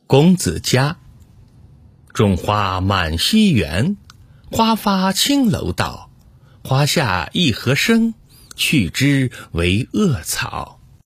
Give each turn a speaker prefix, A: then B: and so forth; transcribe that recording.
A: 公子家。种花满西园，花发青楼道。花下一荷生，去之为恶草。